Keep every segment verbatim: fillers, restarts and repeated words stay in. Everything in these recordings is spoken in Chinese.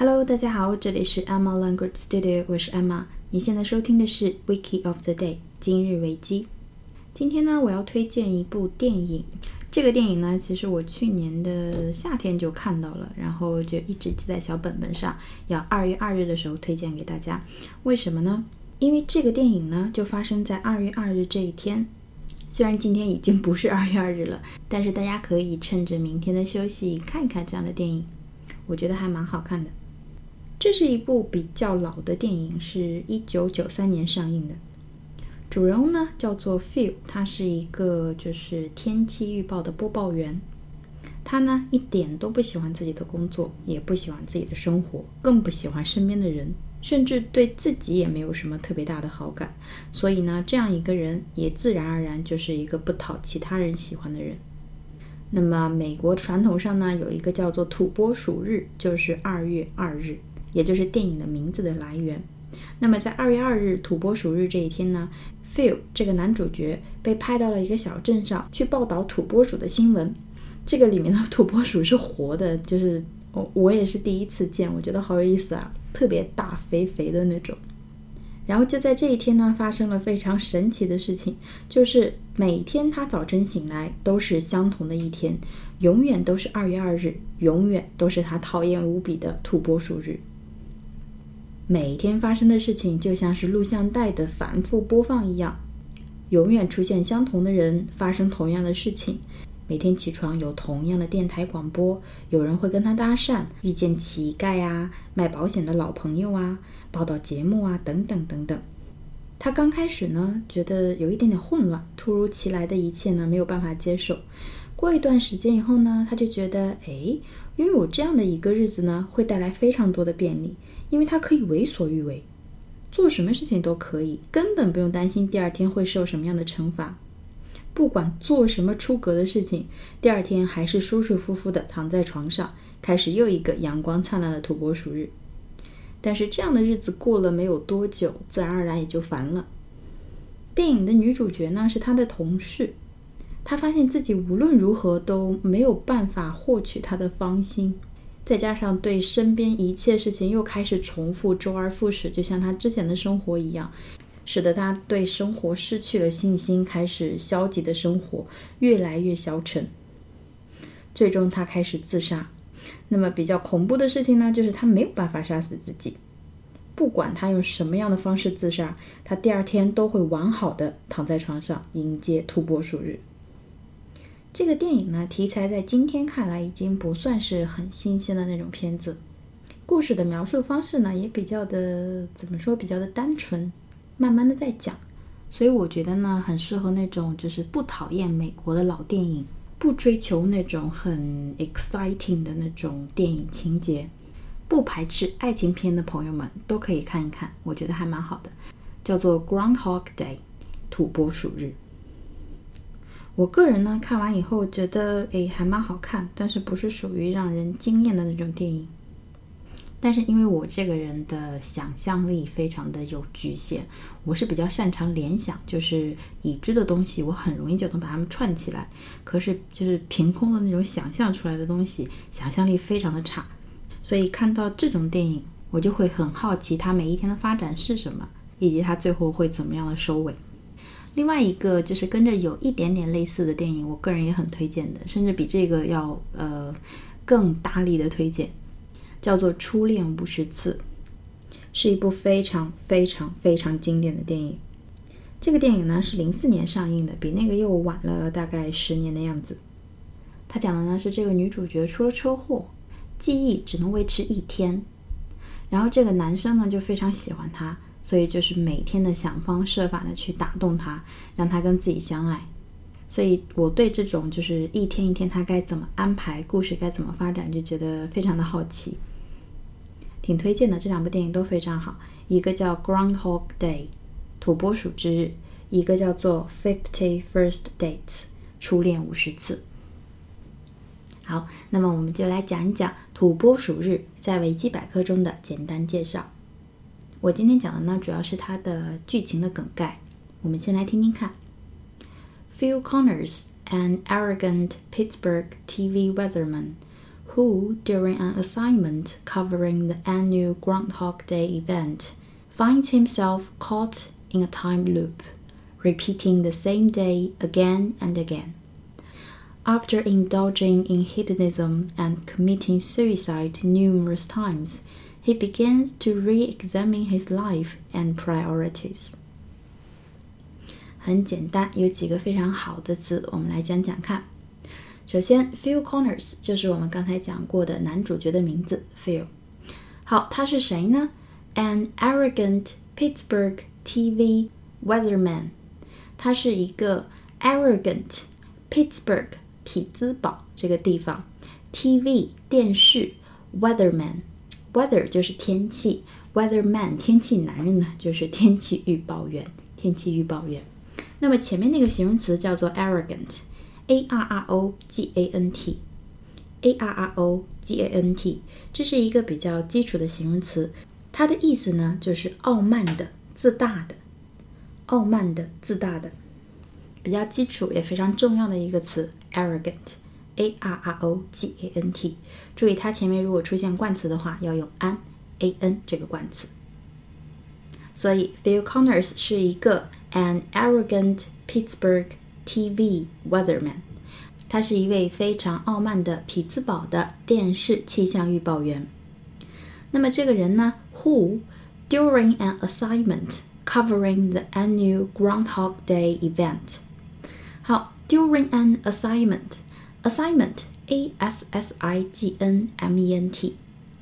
Hello， 大家好，这里是 Emma Language Studio， 我是 Emma。你现在收听的是 Wiki of the Day 今日维基。今天呢，我要推荐一部电影。这个电影呢，其实我去年的夏天就看到了，然后就一直记在小本本上，要二月二日的时候推荐给大家。为什么呢？因为这个电影呢，就发生在二月二日这一天。虽然今天已经不是二月二日了，但是大家可以趁着明天的休息看一看这样的电影，我觉得还蛮好看的。这是一部比较老的电影，是一九九三年上映的。主人公呢叫做 Phil， 他是一个就是天气预报的播报员。他呢一点都不喜欢自己的工作，也不喜欢自己的生活，更不喜欢身边的人，甚至对自己也没有什么特别大的好感。所以呢，这样一个人也自然而然就是一个不讨其他人喜欢的人。那么美国传统上呢，有一个叫做土拨鼠日，就是二月二日，也就是电影的名字的来源。那么在二月二日土拨鼠日这一天呢， Phil 这个男主角被派到了一个小镇上去报道土拨鼠的新闻。这个里面的土拨鼠是活的，就是我我也是第一次见，我觉得好有意思啊，特别大肥肥的那种。然后就在这一天呢，发生了非常神奇的事情，就是每天他早晨醒来都是相同的一天，永远都是二月二日，永远都是他讨厌无比的土拨鼠日。每天发生的事情就像是录像带的反复播放一样，永远出现相同的人，发生同样的事情。每天起床有同样的电台广播，有人会跟他搭讪，遇见乞丐啊，卖保险的老朋友啊，报道节目啊，等等等等。他刚开始呢，觉得有一点点混乱，突如其来的一切呢，没有办法接受。过一段时间以后呢，他就觉得，诶，拥有这样的一个日子呢，会带来非常多的便利，因为他可以为所欲为，做什么事情都可以，根本不用担心第二天会受什么样的惩罚。不管做什么出格的事情，第二天还是舒舒服服的躺在床上，开始又一个阳光灿烂的土拨鼠日。但是这样的日子过了没有多久，自然而然也就烦了。电影的女主角呢，是她的同事，她发现自己无论如何都没有办法获取她的芳心，再加上对身边一切事情又开始重复，周而复始，就像她之前的生活一样，使得他对生活失去了信心，开始消极的生活，越来越消沉。最终他开始自杀。那么比较恐怖的事情呢，就是他没有办法杀死自己。不管他用什么样的方式自杀，他第二天都会完好的躺在床上迎接土拨鼠日。这个电影呢，题材在今天看来已经不算是很新鲜的那种片子。故事的描述方式呢，也比较的怎么说，比较的单纯，慢慢的在讲，所以我觉得呢，很适合那种就是不讨厌美国的老电影，不追求那种很 exciting 的那种电影情节，不排斥爱情片的朋友们都可以看一看，我觉得还蛮好的，叫做 Groundhog Day 土拨鼠日。我个人呢看完以后觉得诶还蛮好看，但是不是属于让人惊艳的那种电影。但是因为我这个人的想象力非常的有局限，我是比较擅长联想，就是已知的东西我很容易就能把它们串起来，可是就是凭空的那种想象出来的东西，想象力非常的差，所以看到这种电影我就会很好奇它每一天的发展是什么，以及它最后会怎么样的收尾。另外一个就是跟着有一点点类似的电影，我个人也很推荐的，甚至比这个要呃更大力的推荐，叫做初恋五十次，是一部非常非常非常经典的电影。这个电影呢是零四年上映的，比那个又晚了大概十年的样子。它讲的呢是这个女主角出了车祸，记忆只能维持一天，然后这个男生呢就非常喜欢她，所以就是每天的想方设法的去打动她，让她跟自己相爱。所以我对这种就是一天一天他该怎么安排，故事该怎么发展，就觉得非常的好奇，挺推荐的。这两部电影都非常好，一个叫 Groundhog Day 土拨鼠之日，一个叫做 Fifty First Dates 初恋五十次。好，那么我们就来讲一讲土拨鼠日在维基百科中的简单介绍。我今天讲的呢主要是它的剧情的梗概，我们先来听听看。Phil Connors, an arrogant Pittsburgh T V weatherman who, during an assignment covering the annual Groundhog Day event, finds himself caught in a time loop, repeating the same day again and again. After indulging in hedonism and committing suicide numerous times, he begins to re-examine his life and priorities. 很简单，有几个非常好的词，我们来讲讲看。首先 Phil Connors 就是我们刚才讲过的男主角的名字 Phil。好，他是谁呢？ An arrogant Pittsburgh T V weatherman。他是一个 arrogant Pittsburgh 匹兹堡这个地方 T V 电视 weatherman。 weather 就是天气， weatherman 天气男人呢就是天气预报员，天气预报员。那么前面那个形容词叫做 arrogant， A R R O G A N T A R R O G A N T， 这是一个比较基础的形容词，它的意思呢就是傲慢的、自大的，傲慢的、自大的，比较基础也非常重要的一个词 arrogant A R R O G A N T。 注意它前面如果出现冠词的话要用 an A N 这个冠词。所以 Phil Connors 是一个 an arrogant Pittsburgh T V weatherman， 他是一位非常傲慢的匹兹堡的电视气象预报员。那么这个人呢 who during an assignment covering the annual Groundhog Day event。 好， during an assignment assignment A S S I G N M E N T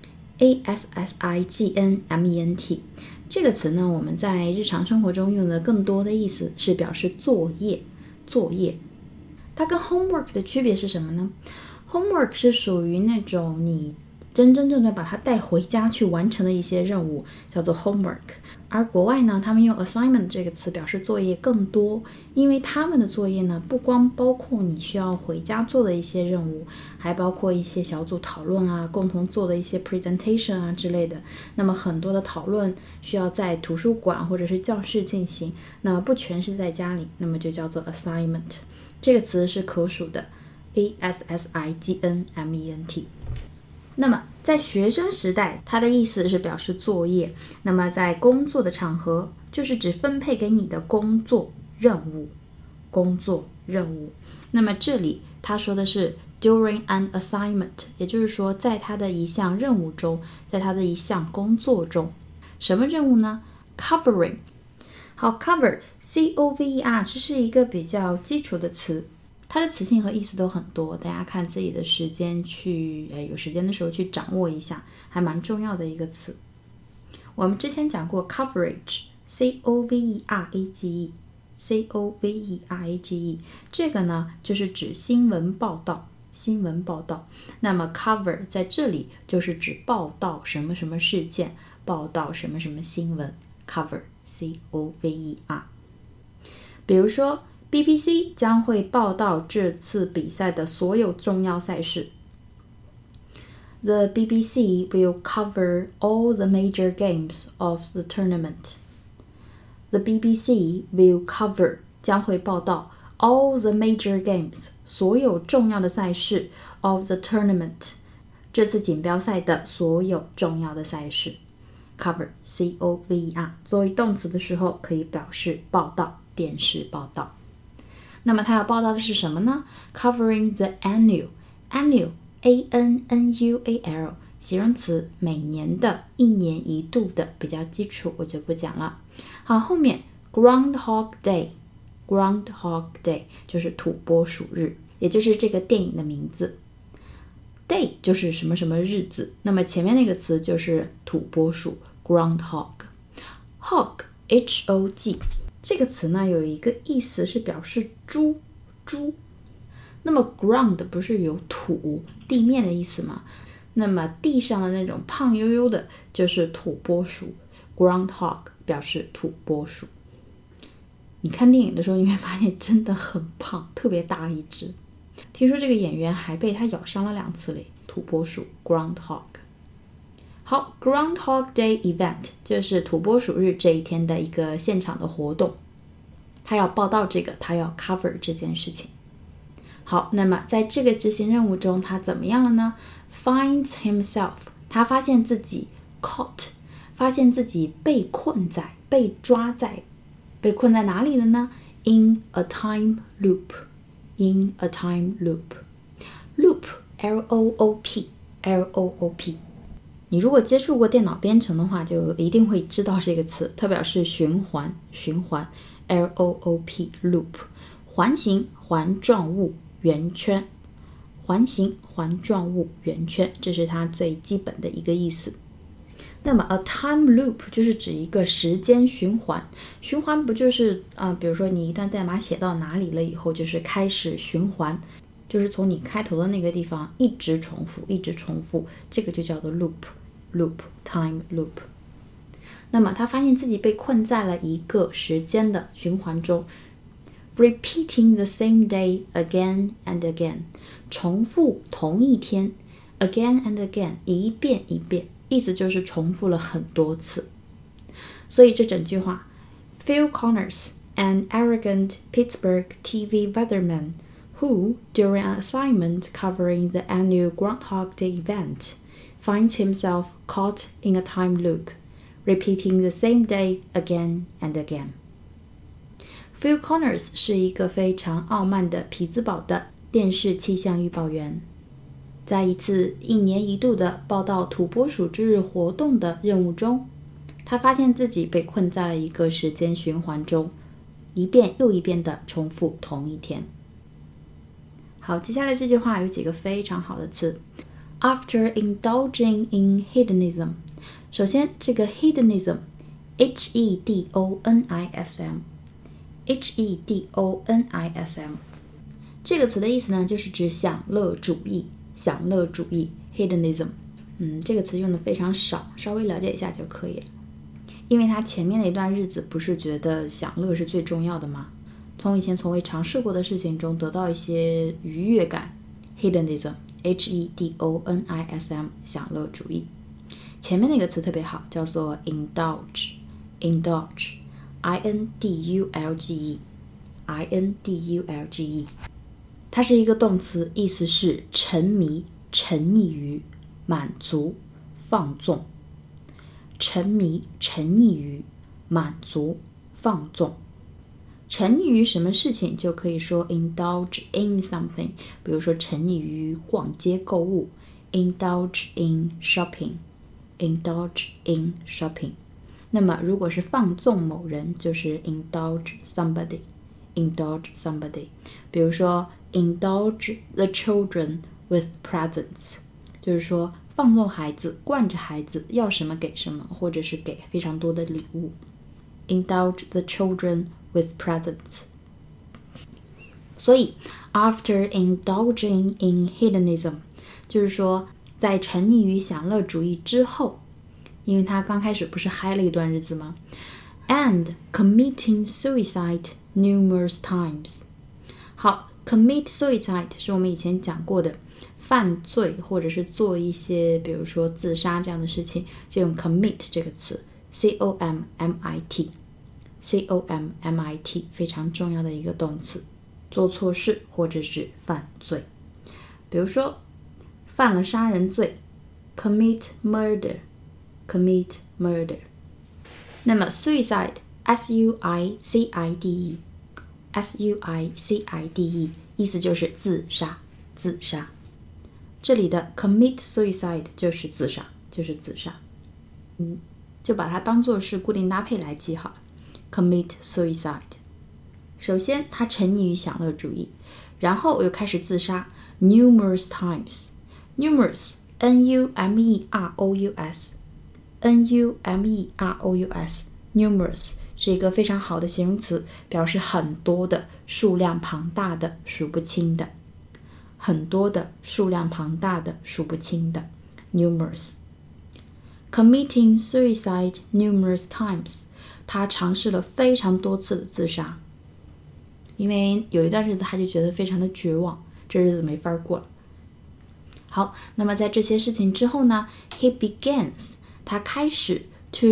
A S S I G N M E N T 这个词呢，我们在日常生活中用的更多的意思是表示作业，作业。它跟 homework 的区别是什么呢？ homework 是属于那种你真真正正把它带回家去完成的一些任务，叫做 homework。 而国外呢，他们用 assignment 这个词表示作业更多，因为他们的作业呢，不光包括你需要回家做的一些任务，还包括一些小组讨论啊，共同做的一些 presentation 啊之类的。那么很多的讨论需要在图书馆或者是教室进行，那么不全是在家里，那么就叫做 assignment。 这个词是可数的 A S S I G N M E N T。那么在学生时代，它的意思是表示作业，那么在工作的场合就是指分配给你的工作任务，工作任务。那么这里他说的是 during an assignment， 也就是说在他的一项任务中，在他的一项工作中。什么任务呢？ covering。 好， cover C O V E R 这是一个比较基础的词，它的词性和意思都很多，大家看自己的时间去，呃，有时间的时候去掌握一下，还蛮重要的一个词。我们之前讲过 coverage C O V E R A G E C O V E R A G E， 这个呢就是指新闻报道，新闻报道。那么 cover 在这里就是指报道什么什么事件，报道什么什么新闻 cover C O V E R。 比如说B B C 将会报道这次比赛的所有重要赛事。The B B C will cover all the major games of the tournament. The B B C will cover 将会报道 all the major games 所有重要的赛事 of the tournament 这次锦标赛的所有重要的赛事。Cover C O V E R 作为动词的时候可以表示报道，电视报道。那么它要报道的是什么呢？ Covering the annual annual A N N U A L 形容词，每年的，一年一度的，比较基础，我就不讲了。好，后面 Groundhog Day Groundhog Day 就是土拨鼠日，也就是这个电影的名字。Day 就是什么什么日子，那么前面那个词就是土拨鼠 Groundhog Hog H O G 这个词呢有一个意思是表示猪猪。那么 ground 不是有土地面的意思吗？那么地上的那种胖悠悠的就是土拨鼠 Groundhog 表示土拨鼠。你看电影的时候你会发现真的很胖，特别大一只。听说这个演员还被他咬伤了两次嘞，土拨鼠 Groundhog。 好， Groundhog Day Event 就是土拨鼠日这一天的一个现场的活动，他要报道这个，他要 cover 这件事情。 好，那么在这个执行任务中，他怎么样了呢？ Finds himself， 他发现自己 caught， 发现自己被困在，被抓在，被困在哪里了呢？ In a time loop， In a time loop， Loop L O O P L O O P， 你如果接触过电脑编程的话，就一定会知道这个词，它表示循环，循环 L O O P Loop， 环形环状物圆圈，环形环状物圆圈，这是它最基本的一个意思。那么 a time loop 就是指一个时间循环，循环不就是呃，比如说你一段代码写到哪里了以后，就是开始循环，就是从你开头的那个地方一直重复，一直重复，这个就叫做 loop loop time loop。那么他发现自己被困在了一个时间的循环中。Repeating the same day again and again， 重复同一天 again and again， 一遍一遍，意思就是重复了很多次。所以这整句话 Phil Connors, an arrogant Pittsburgh T V weatherman who, during an assignment covering the annual Groundhog Day event, finds himself caught in a time loop, repeating the same day again and again.Phil Connors 是一个非常傲慢的匹兹堡的电视气象预报员，在一次一年一度的报道土拨鼠之日活动的任务中，他发现自己被困在了一个时间循环中，一遍又一遍地重复同一天。好，接下来这句话有几个非常好的词。After indulging in hedonism， 首先这个 hedonism H E D O N I S M H E D O N I S M 这个词的意思呢，就是指享乐主义，享乐主义 hedonism。 嗯，这个词用的非常少，稍微了解一下就可以了。因为他前面的一段日子不是觉得享乐是最重要的吗？从以前从未尝试过的事情中得到一些愉悦感 hedonism H E D O N I S M 享乐主义。前面那个词特别好，叫做 indulge indulge I N D U L G E I N D U L G E 它是一个动词，意思是沉迷、沉溺于、满足、放纵。沉迷、沉溺于、满足、放纵。沉溺于什么事情就可以说 indulge in something， 比如说沉溺于逛街购物 indulge in shopping indulge in shopping。那么如果是放纵某人，就是 indulge somebody indulge somebody。 比如说 indulge the children with presents， 就是说放纵孩子，惯着孩子，要什么给什么，或者是给非常多的礼物。 indulge the children with presents。 所以 after indulging in hedonism 就是说在沉溺于享乐主义之后，因为他刚开始不是嗨了一段日子吗？ And committing suicide numerous times。 好， commit suicide 是我们以前讲过的犯罪或者是做一些比如说自杀这样的事情，就用 commit 这个词 C O M M I T C O M M I T 非常重要的一个动词，做错事或者是犯罪。比如说犯了杀人罪 commit murder commit murder。 那么 suicide S U I C I D E S U I C I D E 意思就是自杀，自杀。这里的 commit suicide 就是自杀，就是自杀。嗯，就把它当作是固定搭配来记好了。commit suicide。 首先他沉溺于享乐主义，然后又开始自杀 numerous times numerous N U M E R O U S N U M E R O U S numerous 是一个非常好的形容词，表示很多的，数量庞大的，数不清的。很多的，数量庞大的，数不清的 numerous。 Committing suicide numerous times， 他尝试了非常多次的自杀，因为有一段日子他就觉得非常的绝望，这日子没法过了。好，那么在这些事情之后呢 he begins 他开始 to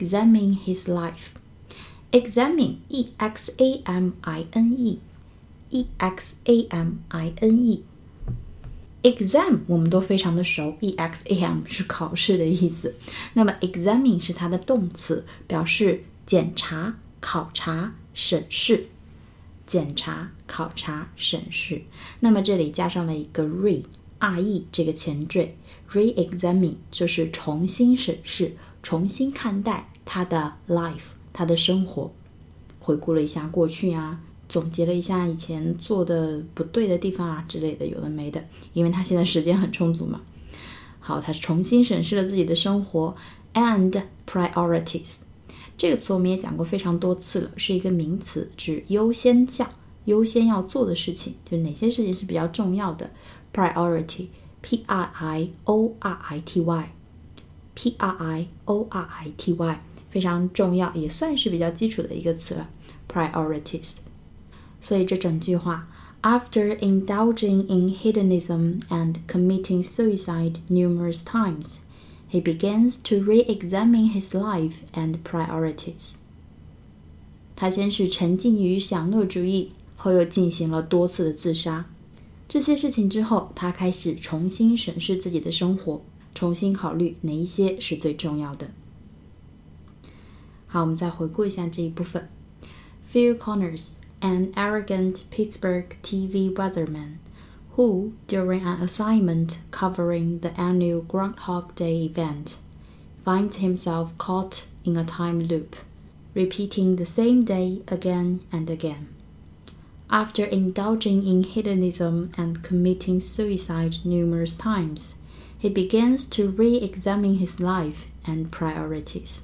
re-examine his life。 examine E X A M I N E E X A M I N E。Exam 我们都非常的熟 E X A M 是考试的意思，那么 examine 是它的动词，表示检查、考察、审视。检查、考察、审视，那么这里加上了一个 re re 这个前缀， re-examine 就是重新审视、重新看待他的 life， 他的生活，回顾了一下过去啊，总结了一下以前做的不对的地方啊之类的，有的没的，因为他现在时间很充足嘛。好，他重新审视了自己的生活 and priorities。这个词我们也讲过非常多次了，是一个名词，指优先项，优先要做的事情，就是哪些事情是比较重要的。Priority P R I O R I T Y P R I O R I T Y 非常重要，也算是比较基础的一个词了。Priorities。 所以这整句话 After indulging in hedonism and committing suicide numerous times, he begins to re-examine his life and priorities. 他先是沉浸于享乐主义，后又进行了多次的自杀。这些事情之后，他开始重新审视自己的生活，重新考虑哪一些是最重要的。好，我们再回顾一下这一部分。Phil Connors, an arrogant Pittsburgh T V weatherman, who, during an assignment covering the annual Groundhog Day event, finds himself caught in a time loop, repeating the same day again and again. After indulging in hedonism and committing suicide numerous times, he begins to re-examine his life and priorities.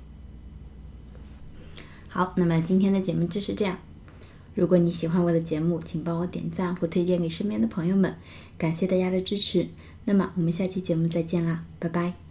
好，那么今天的节目就是这样。如果你喜欢我的节目，请帮我点赞或推荐给身边的朋友们，感谢大家的支持。那么我们下期节目再见啦，拜拜。